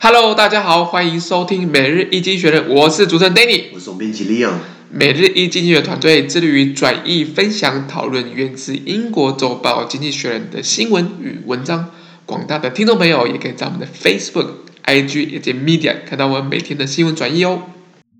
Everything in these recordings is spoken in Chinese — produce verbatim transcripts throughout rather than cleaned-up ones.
Hello， 大家好，歡迎收聽每日一經濟學人，我是主持人 Danny， 我是總編輯 Leon。 每日一經濟學團隊致力於轉譯、分享、討論源自英國週報《經濟學人》的新聞與文章。廣大的聽眾朋友也可以在我們的 Facebook、I G 以及 Media 看到我們每天的新聞轉譯哦。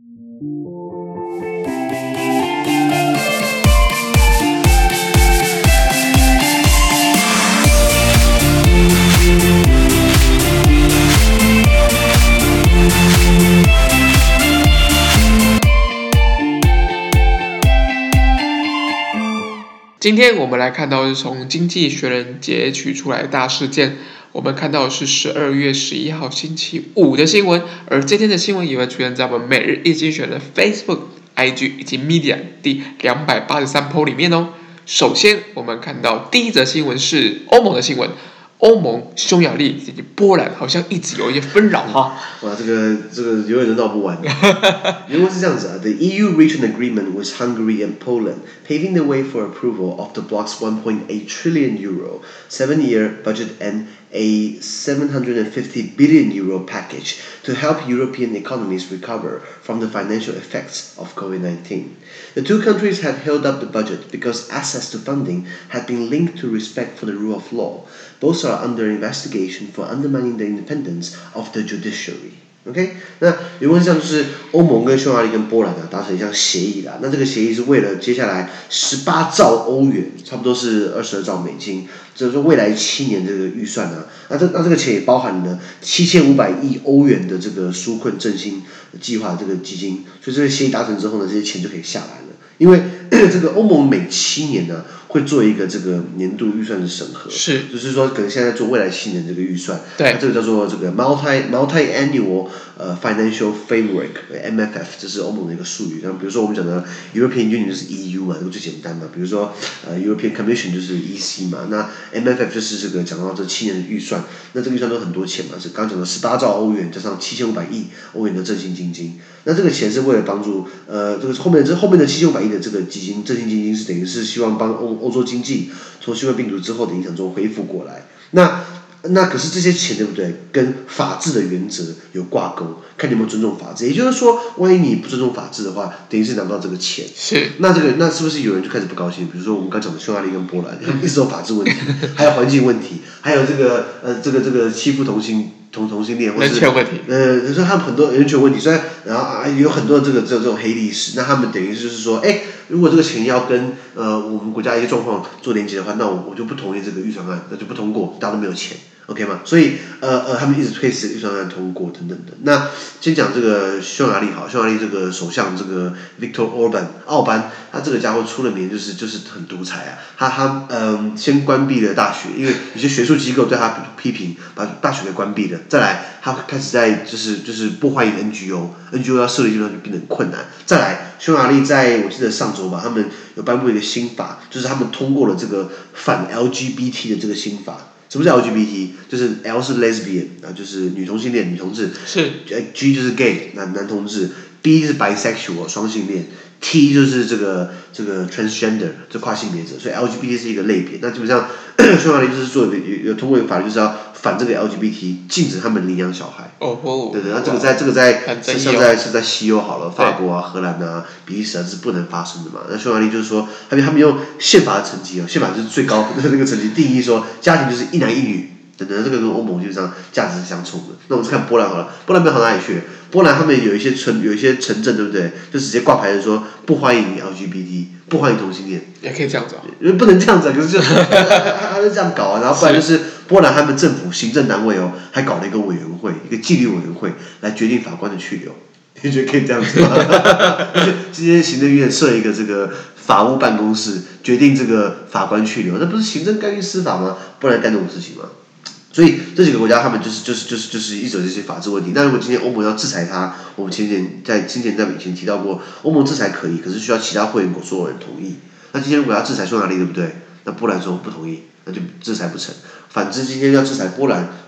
今天我們來看到是從《經濟學人》截取出來的大事件，我們看到的是十二月十一號星期五的新聞，而這天的新聞也會出現在我們每日一經濟學人的 Facebook、I G 以及 Media 第兩百八十三 po 裡面哦。首先，我們看到第一則新聞是歐盟的新聞。歐盟、匈牙利以及波蘭好像一直有一些紛擾哈。 哇，這個這個永遠都鬧不完。原文是這樣子啊 ：The E U reached an agreement with Hungary and Poland, paving the way for approval of the bloc's one point eight trillion euro seven-year budget and a seven hundred fifty billion euro package to help European economies recover from the financial effects of COVID nineteen. The two countries had held up the budget because access to funding had been linked to respect for the rule of law. Both are under investigation for undermining the independence of the judiciary. OK， 那原文上就是歐盟跟匈牙利跟波蘭啊達成一項協議啦。那這個協議是為了接下來十八兆歐元，差不多是二十二兆美金，就是說未來七年這個預算啊，那這那這個錢也包含了七千五百億歐元的這個紓困振興計劃這個基金，所以這個協議達成之後呢，這些錢就可以下來了。因為這個歐盟每七年呢、啊、會做一個這個年度預算的審核， 是， 就是說可能現在做未來七年這個預算， 對， 這個叫做這個 multi multi annual 呃 financial framework M F F， 這是歐盟的一個術語。像比如說我們講的 European Union 就是 E U 嘛，這個最簡單嘛。比如說呃 European Commission 就是 E C 嘛，那 M F F 就是這個講到這七年的預算，那這個預算都很多錢嘛，是剛講的十八兆歐元加上七千五百億歐元的振興基金。那這個錢是為了幫助呃這個後面這後面的七千五百億的這個基金振興基金是等於是希望幫歐歐洲經濟從新冠病毒之後的影響中恢復過來。那那可是這些錢對不對？跟法治的原則有掛鈎，看你有沒有尊重法治。也就是說，萬一你不尊重法治的話，等於是拿不到這個錢。 是。 那這個那是不是有人就開始不高興？比如說我們剛講的匈牙利跟波蘭，一直有法治問題，還有環境問題，還有這個呃這個這個欺負同性同同性戀，或是人權問題。 呃，就是他們很多人權問題，雖然然後啊有很多這個這這種黑歷史，那他們等於就是說，哎，如果這個錢要跟呃我們國家一些狀況做連接的話，那我我就不同意這個預算案，那就不通過，大家都沒有錢。OK 嗎？所以呃呃，他們一直推遲預算案通過等等的。那先講這個匈牙利好，匈牙利這個首相這個 Viktor Orban 奧班，他這個家伙出了名就是就是很獨裁啊。他他嗯，先關閉了大學，因為有些學術機構對他批評，把大學給關閉了。再來，他開始在就是就是不歡迎 N G O，N G O 要設立地方就變得很困難。再來，匈牙利在我記得上周吧，他們有頒布一個新法，就是他們通過了這個反 L G B T 的這個新法。什麼是 L G B T？ 就是 L 是 lesbian 啊，就是女同性戀、女同志。 是。 G 就是 gay 男男同志 ，B 是 bisexual 雙性戀 ，T 就是這個這個 transgender 這跨性別者，所以 L G B T 是一個類別。那基本上匈牙利就是做有有通過一個法律，就是要反這個 L G B T， 禁止他們領養小孩。 哦哦。對對對，那這個在這個在是像在是在西歐好了，法國啊、荷蘭啊、比利時啊是不能發生的嘛。那匈牙利就是說，他們他們用憲法的層級哦，憲法就是最高的那個層級定義說，家庭就是一男一女。等等，這個跟歐盟基本上價值是相衝的。那我們看波蘭好了，波蘭沒好哪裡去？波蘭他們有一些村，有一些城鎮，對不對？就直接掛牌子說不歡迎 L G B T， 不歡迎同性戀。 也可以這樣子啊？ 不能這樣子啊，可是就他他就這樣搞啊。然後不然就是波蘭他們政府行政單位哦，還搞了一個委員會，一個紀律委員會來決定法官的去留。你覺得可以這樣子嗎？今天行政院設一個這個法務辦公室，決定這個法官去留，那不是行政干預司法嗎？不然幹這種事情嗎？所以這幾個國家他們就是就是就是就是一直有這些法治問題。那如果今天歐盟要制裁他，我們前前在之前在以前提到過，歐盟制裁可以，可是需要其他會員國所有人同意。那今天如果要制裁匈牙利，對不對？那波蘭說不同意，那就制裁不成。反之，今天要制裁波蘭，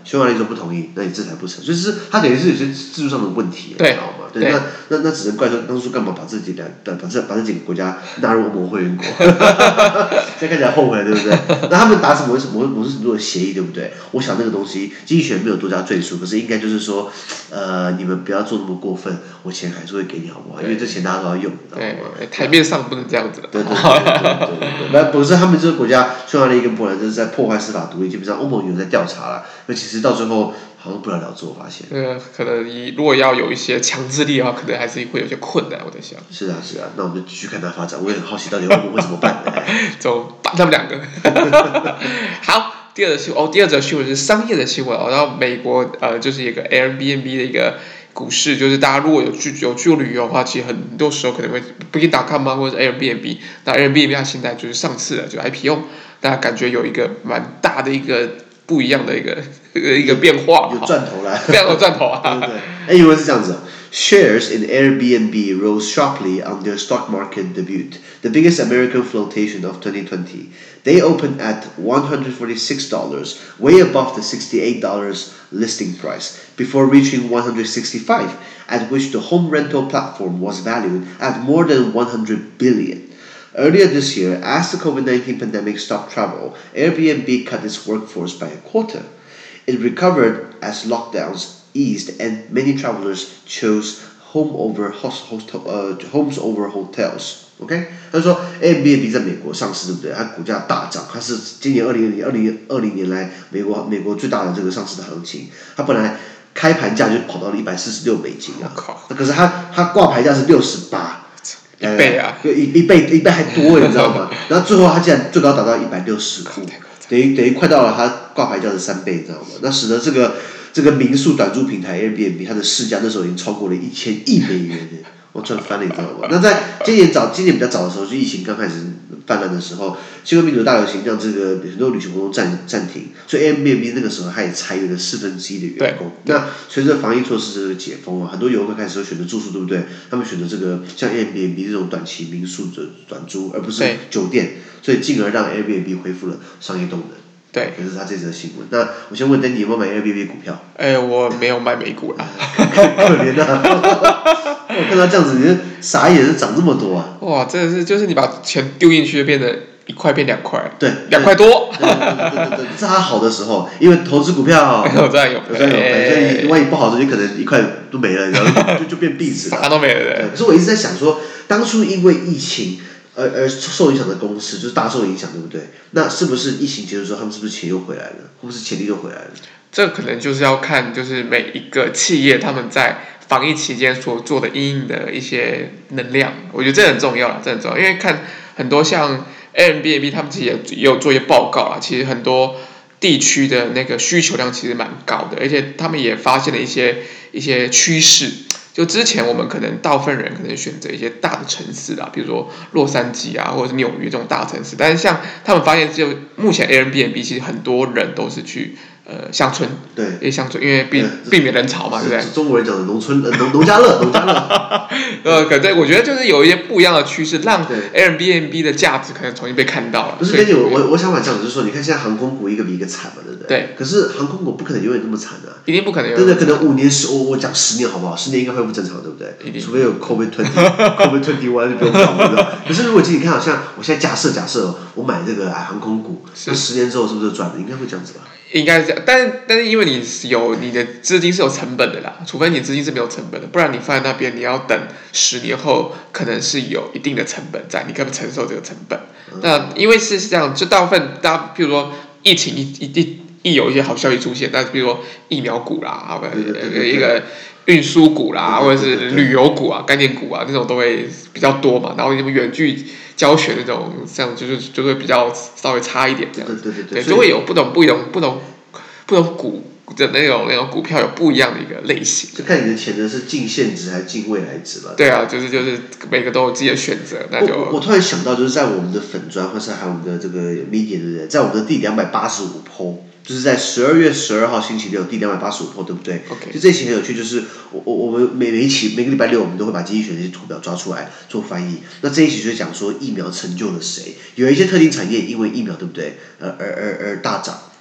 匈牙利說不同意，那你制裁不成，所以是它等於是有些制度上的問題， 對， 你知道嗎？对， 對那那那只能怪說當初幹嘛把這幾兩把把這把這幾個國家納入歐盟會員國，現在看起來後悔了，對不對？那他們達成某什麼某種程度的協議，對不對？我想那個東西經濟學沒有多加贅述，可是應該就是說，呃，你們不要做那麼過分，我錢還是會給你，好不好？因為這錢大家都要用，你知道嗎？ 對，台面上不能這樣子。 對對對對對對對，那不是他們這個國家，匈牙利跟波蘭就是在破壞司法獨立，基本上歐盟有在調查了，那其實到最後好像不了了之，我發現。 呃，可能你如果要有一些強制力的話，可能還是會有些困難，我在想。 是啊是啊，那我們就繼續看它發展，我也很好奇到底歐盟會怎麼辦。 怎麼辦他們兩個？好。第二則新聞哦，第二則新聞是商業的新聞哦。然後美國呃，就是一個 Airbnb 的一個股市，就是大家如果有去有去過旅遊的話，其實很多時候可能會 Booking dot com 或者是 Airbnb。那 Airbnb 它現在就是上市了，就 I P O， 大家感覺有一個蠻大的一個不一樣的一個一個變化， 有賺頭來， 非常有賺頭啊。 對对對，哎，因為是這樣子。Shares in Airbnb rose sharply on their stock market debut, the biggest American flotation of twenty twenty. They opened at one hundred forty-six dollars, way above the sixty-eight dollars listing price, before reaching one hundred sixty-five dollars, at which the home rental platform was valued at more than one hundred billion dollars. Earlier this year, as the COVID nineteen pandemic stopped travel, Airbnb cut its workforce by a quarter. It recovered as lockdowns eased and many travelers chose home over host, host, uh, homes over hotels。OK， 他說 Airbnb 在美國上市，對不對？它股價大漲，它是今年二零二零二零年来美國美國最大的這個上市的行情。它本來開盤價就跑到了一百四十六美金啊，可是它它掛牌價是六十八， 一倍啊， 一一倍一倍還多，你知道嗎？然後最後它竟然最高達到一百六十五，等於等於快到了它掛牌價的三倍，你知道嗎？那使得這個。這個民宿短租平台 Airbnb 它的市價那時候已經超過了一千億美元了，我賺翻了，你知道嗎？那在今年早，今年比較早的時候，就疫情剛開始泛濫的時候，新冠病毒大流行讓這個很多旅行活動暫暫停，所以 Airbnb 那個時候它也裁員了四分之一的員工。那隨着防疫措施這個解封啊，很多遊客開始會選擇住宿，對不對？他們選擇這個像 Airbnb 這種短期民宿的短租，而不是酒店，所以進而讓 Airbnb 恢復了商業動能。 對， 可是他這則新聞。那我先問丹尼有沒有買 Airbnb 股票？ 哎，我沒有買美股啦。 可憐啊！我看他這樣子，你就傻眼，是漲這麼多啊！ 哇，真的是，就是你把錢丟進去，就變得一塊變兩塊。 對， 兩塊多。 對對對對對，這是他好的時候，因為投資股票有賺有賠， 有賺有賠，所以萬一不好的時候，你可能一塊都沒了，然後就就變壁紙了。 啥都沒了。對。 可是我一直在想說，當初因為疫情。而而受影響的公司就是大受影響，對不對？那是不是疫情結束之後，他們是不是錢又回來了？或者是潛力又回來了？ 這可能就是要看，就是每一個企業他們在防疫期間所做的因應的一些能量，我覺得這很重要了，這很重要。因為看很多像 Airbnb 他們自己也也有做一些報告啊，其實很多地區的那個需求量其實蠻高的，而且他們也發現了一些一些趨勢。就之前我們可能大部分人可能選擇一些大的城市啊，比如說洛杉磯啊，或者是紐約這種大城市。但是像他們發現，就目前 Airbnb 其實很多人都是去呃鄉村， 對， 因為鄉村因為避避免人潮嘛，對不對？ 中國人講的農村呃農農家樂，農家樂。 呃，可對，我覺得就是有一些不一樣的趨勢，讓 Airbnb 的價值可能重新被看到了。 不是，根據我我我想法講的就是說，你看現在航空股一個比一個慘嘛，對不对？ 對。 可是航空股不可能永遠那麼慘啊， 一定不可能永遠。 真的可能五年十，我我講十年好不好？十年應該恢復正常，對不對？除非有 COVID twenty，COVID twenty one 就不用講了。可是如果今天你看，好像我現在假設假設我買這個哎航空股，那十年之後是不是賺了？應該會這樣子吧？ 應該是這樣，但是但是因為你有你的資金是有成本的啦，除非你資金是沒有成本的，不然你放在那邊，你要等十年後，可能是有一定的成本在，你可不可以承受這個成本？嗯、那因為是這樣，就大部分大家，譬如說疫情一一一一有一些好消息出現，但是比如說疫苗股啦，對對對對一個運輸股啦，或者是旅遊股啊、概念股啊，這種都會比較多嘛。然後什麼遠距教學那種，像就是就會比較稍微差一點這樣子， 對對對對， 就會有不同不同不同不同股的那種那種股票有不一樣的一個類型。 就看你的錢呢是進現值還是進未來值吧。 對啊，就是就是每個都有自己的選擇，那就。 我我突然想到，就是在我們的粉專或是還有我們的這個 media 對不對？在我們的第兩百八十五 po。就是在十二月十二號星期六第兩百八十五 po，對不對？ Okay. 就這一期很有趣，就是我我我們每每一期每個禮拜六我們都會把經濟學的一些圖表抓出來做翻譯。那這一期就是講說疫苗成就了誰？有一些特定產業因為疫苗，對不對？呃而而而大漲。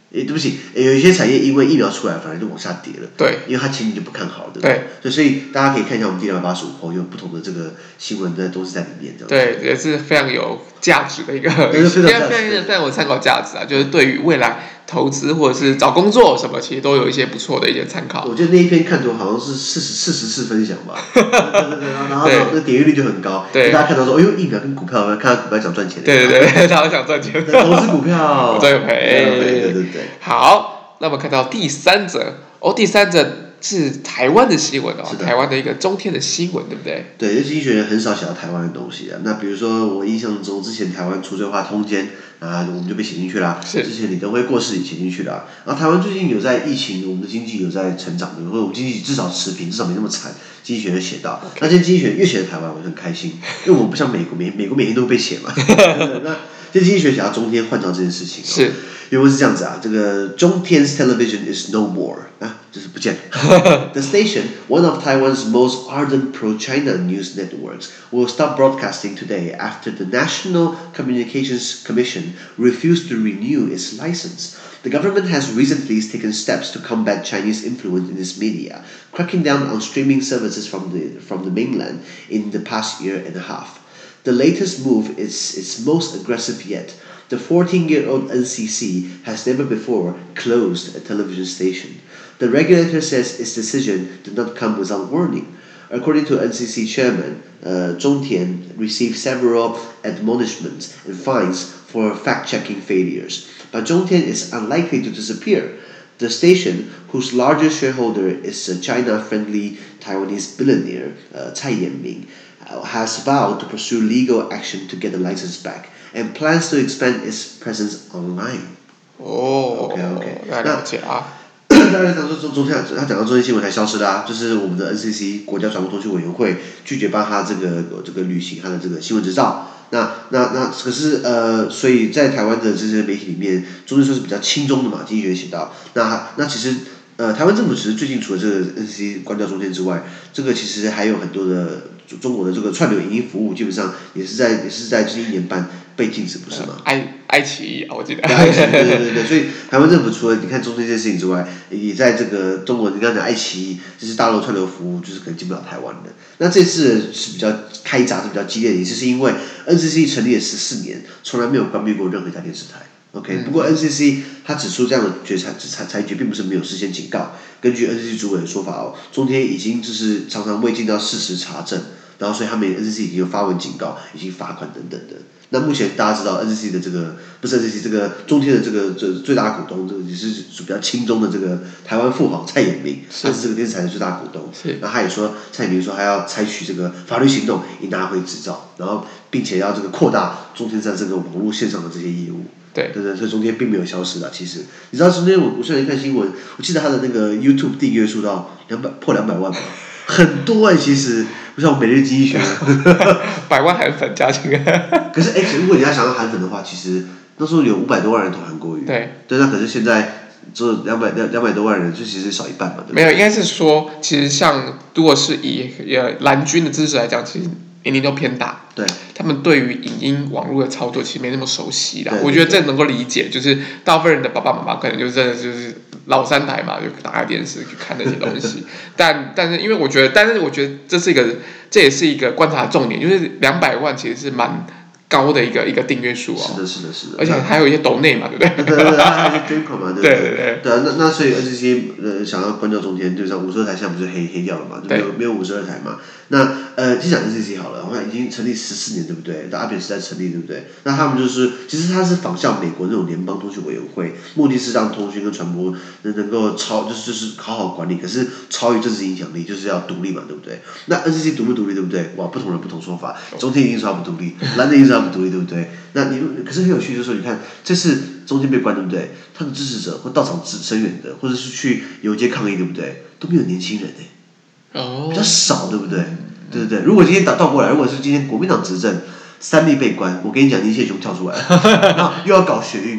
誒，對不起，有一些產業因為疫苗出來，反而就往下跌了。 對， 因為它前景就不看好，對不對？對，所以大家可以看一下我們第兩百八十五號有不同的這個新聞的都是在裡面，這樣。 對，也是非常有價值的一個， 非常非常非常有參考價值啊！就是對於未來投資或者是找工作什麼，其實都有一些不錯的一些參考。 我覺得那一篇看圖好像是四十四十次分享吧，對對對，然後那點閱率就很高，對，大家看到說，哎呦，疫苗跟股票，看到股票想賺錢， 對對對，大家想賺錢， 投資股票， 對賠， 對對對對。 好，那麼看到第三則，哦，第三則是台灣的新聞哦，台灣的一個中天的新聞，對不對？對，因為經濟學人很少寫到台灣的東西啊。那比如說我印象中，之前台灣除罪化通姦啊，我們就被寫進去啦。是。之前李登輝過世也寫進去了。然後台灣最近有在疫情，我們的經濟有在成長，或者我們經濟至少持平，至少沒那麼慘。經濟學人寫到， okay. 那今天經濟學人越寫台灣，我就很開心，因為我們不像美國，美美國每天都會被寫嘛。那今天經濟學寫到中天換照這件事情，是。原文是這樣子啊，這個中天 television is no more 啊，就是不見了。The station, one of Taiwan's most ardent pro-China news networks, will stop broadcasting today after the National Communications Commission refused to renew its license. The government has recently taken steps to combat Chinese influence in its media, cracking down on streaming services from the from the mainland in the past year and a half. The latest move is its most aggressive yet. The fourteen-year-old N C C has never before closed a television station. The regulator says its decision did not come without warning. According to N C C chairman, uh, Zhong Tian received several admonishments and fines for fact-checking failures. But Zhong Tian is unlikely to disappear. The station, whose largest shareholder is a China-friendly Taiwanese billionaire, uh, Tsai Ing-wen, uh, has vowed to pursue legal action to get the license back.And plans to expand its presence online. 哦 ，OK OK， 那了解啊。 大家講說中中天，他講到中天新聞才消失的啊，就是我們的 N C C 國家傳播通訊委員會拒絕幫他這個這個履行他的這個新聞執照。那那那可是呃，所以在台灣的這些媒體裡面，中天算是比較輕鬆的嘛，經濟學人寫到。那那其實呃，台灣政府其實最近除了這個 N C C 關掉中天之外，這個其實還有很多的中國的這個串流影音服務，基本上也是在也是在這一年半被禁止，不是嗎？ 愛愛奇藝啊，我記得。 愛奇藝，對對對對，所以台灣政府除了你看中天這件事情之外，也在這個中國，你剛才講愛奇藝，就是大陸串流服務，就是可能進不了台灣的。那這次是比較開閘，是比較激烈的，也是因為 N C C 成立了十四年，從來沒有關閉過任何一家電視台。OK，、嗯、不過 N C C 他指出這樣的決裁裁裁決並不是沒有事先警告。根據 N C C 主委的說法哦，中天已經就是常常未盡到事實查證，然後所以他們 N C C 已經有發文警告，已經罰款等等的。那目前大家知道 N C C 的這個不是 N C C 這個中天的這個這最大股東，這個也是屬比較親中的這個台灣富豪蔡衍明，他是這個電視台的最大股東。是。然後他也說蔡衍明說他要採取這個法律行動以拿回執照，然後並且要這個擴大中天在這個網絡線上的這些業務。對對對，所以中天並沒有消失啦。其實你知道中天我我現在看新聞，我記得他的那個 YouTube 訂閱數到兩百破兩百萬吧，很多哎、欸，其實不像我每日經濟學， 百萬韓粉加起來。 可是哎、欸，如果你要想要韓粉的話，其實那時候有五百多萬人投韓國瑜。對。對，那可是現在只兩百兩兩百多萬人，就其實少一半嘛，對不對？ 沒有，應該是說，其實像如果是以呃藍軍的支持來講，其實年齡都偏大。對。他們對於影音網絡的操作其實沒那麼熟悉啦，我覺得這能夠理解，就是大部分人的爸爸媽媽可能就真的就是老三台嘛，就打開電視去看那些東西。但但是因為我覺得，但是我覺得這是一個，這也是一個觀察重點，就是兩百萬其實是蠻高的一個一個訂閱數哦。 是的，是的，是的。 而且還有一些抖內嘛，對不对？ 對對對，還有一些捐款嘛，對不對？ 對對對。 對啊，那那所以 N C C 呃想要關掉中天，就像五十二台現在不是黑黑掉了嘛，就沒有沒有五十二台嘛。那呃，先講 N C C 好了，好像已經成立十四年，對不對？在阿扁時代成立，對不對？那他們就是其實他是仿效美國那種聯邦通訊委員會，目的是讓通訊跟傳播能能夠超就是就是好好管理，可是超越政治影響力，就是要獨立嘛，對不對？那 N C C 獨不獨立，對不對？哇，不同人不同說法，中天一定說他不獨立，藍的一定說他不獨立，對不對？那你可是很有趣，就是說你看這次中天被關，對不對？他的支持者或到場支聲援的，或者是去遊街抗議，對不對？都沒有年輕人哎，哦，比較少，對不對？對對對，如果今天倒倒過來，如果是今天國民黨執政，三立被關，我跟你講，年輕人全部跳出來了，然後又要搞學運了，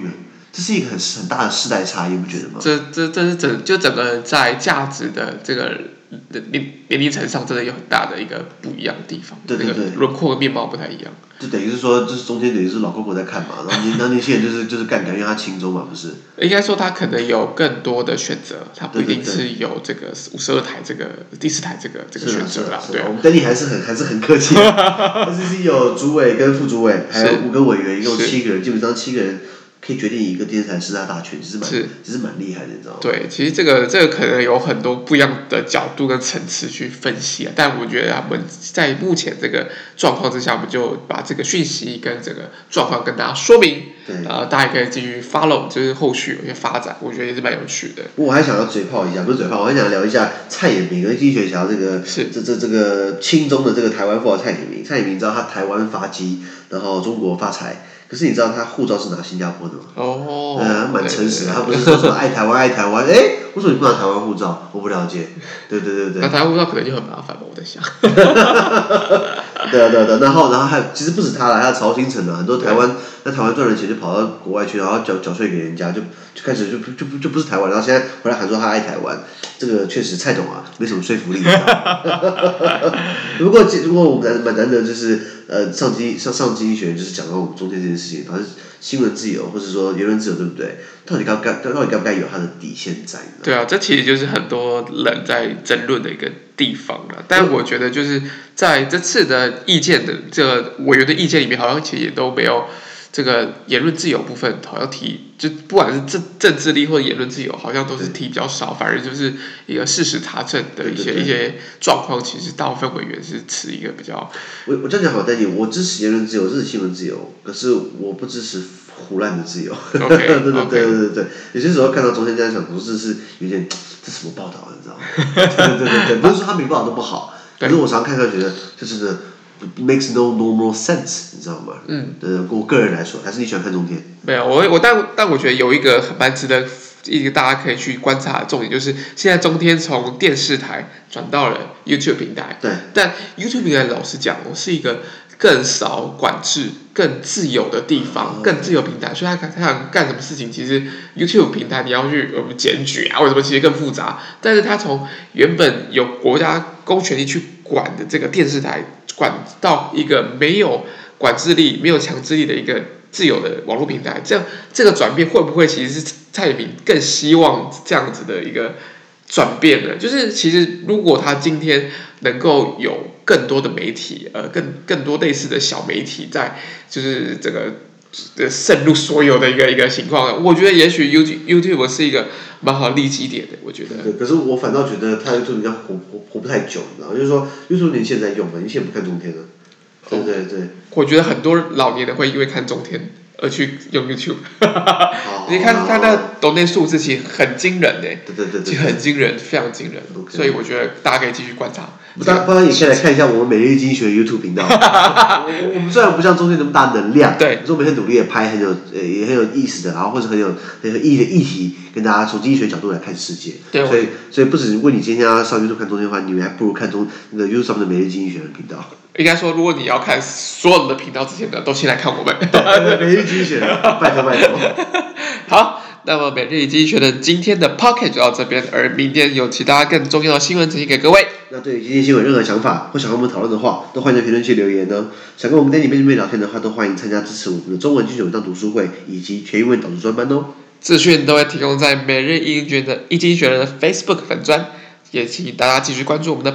這是一個很很大的世代差異，你不覺得嗎？ 這這這是整就整個在價值的這個年年齡層上，真的有很大的一個不一樣的地方。 對對對， 那個輪廓和面貌不太一樣。 就等於是說，就是中間等於是老公婆在看嘛，然後年然後年輕人就是就是幹干，因為他輕鬆嘛，不是？ 應該說他可能有更多的選擇，他不一定是有這個五十二台這個第四台這個這個選擇啦。對， 我們等你還是很還是很客氣，他是是有主委跟副主委，還有五個委員，一共七個人，基本上七個人。可以決定一個電視台四大大權，其實蠻其實蠻厲害的，你知道嗎？ 對，其實這個這個可能有很多不一樣的角度跟層次去分析啊，但我覺得他們在目前這個狀況之下，我們就把這個訊息跟這個狀況跟大家說明，對，呃，大家可以繼續 follow，就是後續有些發展，我覺得也是蠻有趣的。 我還想要嘴炮一下，不是嘴炮，我還想聊一下蔡衍明跟經濟學家這個是這這這個親中的這個台灣富豪蔡衍明，蔡衍明知道他台灣發跡，然後中國發財。可是你知道他護照是拿新加坡的嗎？哦，嗯，蠻誠實的，他不是說什麼愛台灣愛台灣，哎，為什麼你不拿台灣護照？我不了解。對對對對。 那台灣護照可能就很麻煩吧，我在想。 對啊對啊對啊，然後然後還有其實不止他啦，還有曹興誠啊，很多台灣在台灣賺了錢就跑到國外去，然後繳繳稅給人家，就就開始就就就就不是台灣，然後現在回來喊說他愛台灣，這個確實蔡董啊沒什麼說服力。不過不過我們蠻難得就是呃上經上上經濟學人就是講到我們中間這件事情，反正新聞自由或者說言論自由對不對？到底該該到底該不該有它的底線在？ 對啊，這其實就是很多人在爭論的一個地方了。但我覺得就是在這次的意見的這個委員的意見裡面，好像其實也都沒有這個言論自由部分，好像提就不管是政政治力或者言論自由，好像都是提比較少，反而就是一個事實查證的一些對對對一些狀況，其實大部分委員是持一個比較。 我我這樣講好，但你我支持言論自由，支持新聞自由，可是我不支持胡亂的自由。Okay, 對對對對對對，有些時候看到中間這樣想，不是是有點這什麼報道，你知道嗎？對對對對，不是說他每個報道都不好，可是我常常看到覺得這真的 makes no normal sense， 你知道嗎？嗯，對，我個人來說，還是你喜歡看中天？ 沒有，我我但但我覺得有一個蠻值得一個大家可以去觀察的重點，就是現在中天從電視台轉到了 YouTube 平台。對。但 YouTube 平台老實講，我是一個更少管制、更自由的地方，嗯、更自由平台，所以他他想幹什麼事情，其實 YouTube 平台你要去我們檢舉啊，或者什麼，其實更複雜。但是他從原本有國家公權力去管的這個電視台，管到一個沒有管制力、沒有強制力的一個自由的網絡平台，這樣這個轉變會不會其實是蔡衍明更希望這樣子的一個轉變呢？就是其實如果他今天能夠有更多的媒體，呃，更更多類似的小媒體在，就是這個呃滲入所有的一個一個情況，我覺得也許 YouTube YouTube 是一個蠻好的利基點的，我覺得。 對，可是我反倒覺得他 YouTube 應該活活活不太久，你知道嗎？就是說 YouTube 年輕人在用嘛，你現在不看中天了。對對對， 我覺得很多老年人會因為看中天而去用 YouTube， 你看他那抖內數字其實很驚人誒，對對對，其實很驚人，非常驚人，所以我覺得大家可以繼續觀察。 當當然也可以來看一下我們每日經濟學的 YouTube 頻道。我我們雖然不像中天那麼大能量，對，可是我們很努力的拍很有呃也很有意思的，然後或者很有很有意義的議題，跟大家從經濟學角度來看世界。對，所以所以不止問你今天要上 YouTube 看中天的話，你們還不如看中那個 YouTube 上面的每日經濟學的頻道。 應該說，如果你要看所有的頻道之前呢，都先來看我們。 每日經濟學，拜託拜託。 好，那麼每日經濟學的今天的 Podcast 就到這邊，而明天有其他更重要的新聞呈現給各位。 那對於今天新聞有任何想法或想和我們討論的話，都歡迎在評論區留言哦。想跟我們 Danny 面對面聊天的話，都歡迎參加支持我們的中文精選文章讀書會以及全英文導讀專班哦。 資訊都會提供在每日一經學的一經學人的 Facebook 粉專，也請大家繼續關注我們的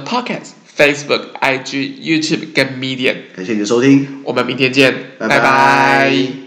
Podcast。Facebook、I G、YouTube 跟 Medium， 感謝你的收聽， 我們明天見，拜拜。拜拜。